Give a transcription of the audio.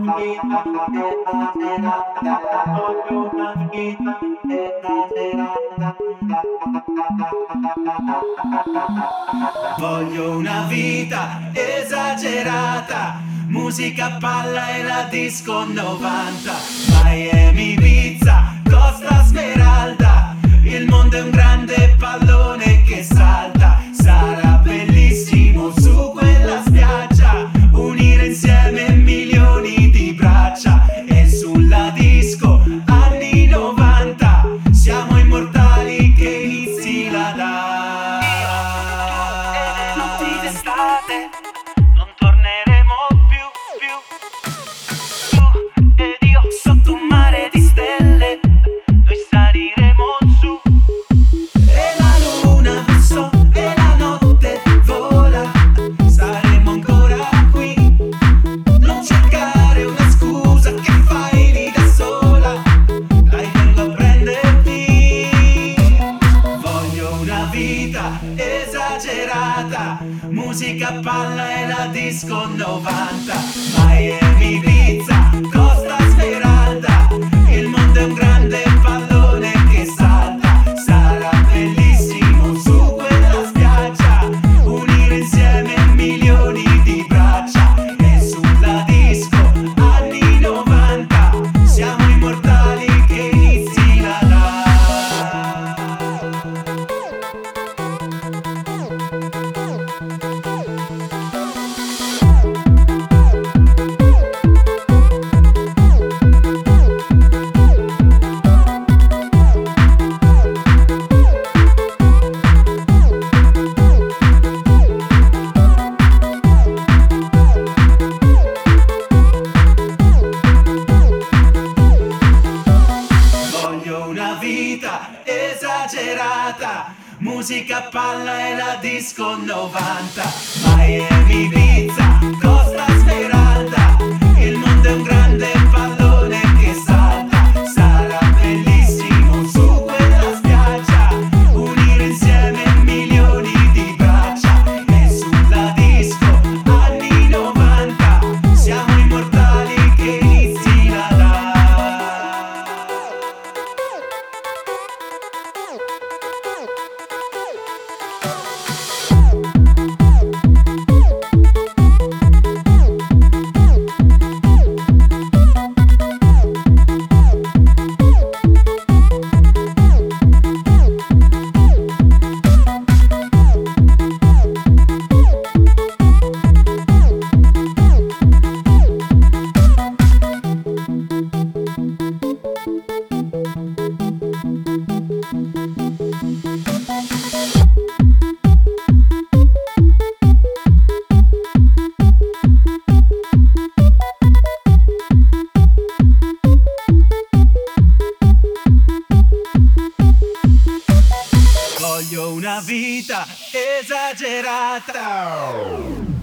Voglio una vita esagerata, musica, palla e la disco 90. Miami, Ibiza, Costa Smeralda, il mondo è un grande pallone che salta. Sarà bellissimo su quella spiaggia, unire insieme milioni di braccia. E sulla disco anni 90, siamo immortali che inizi la notti d'estate, non torneremo più. Tu ed io sotto un mare di stelle, noi saliremo su. E la luna verso e la notte vola, saremo ancora qui. Non cercare una scusa, che fai lì da sola, dai vengo a prenderti. Voglio una vita esagerata, musica, palla e la disco 90. Miami, Ibiza, Costa Smeralda, il mondo è un grande pallone che salta. Sarà bellissimo su quella spiaggia, unire insieme milioni di braccia. E sulla disco anni 90, siamo immortali che inizi la esagerata, musica, palla e la disco 90. Miami, Ibiza, Costa Smeralda, il mondo è un grande pallone che salta. Sarà bellissimo su quella spiaggia, unire insieme milioni di braccia. E sulla disco anni 90, siamo immortali che inizi la Voglio una vita esagerata.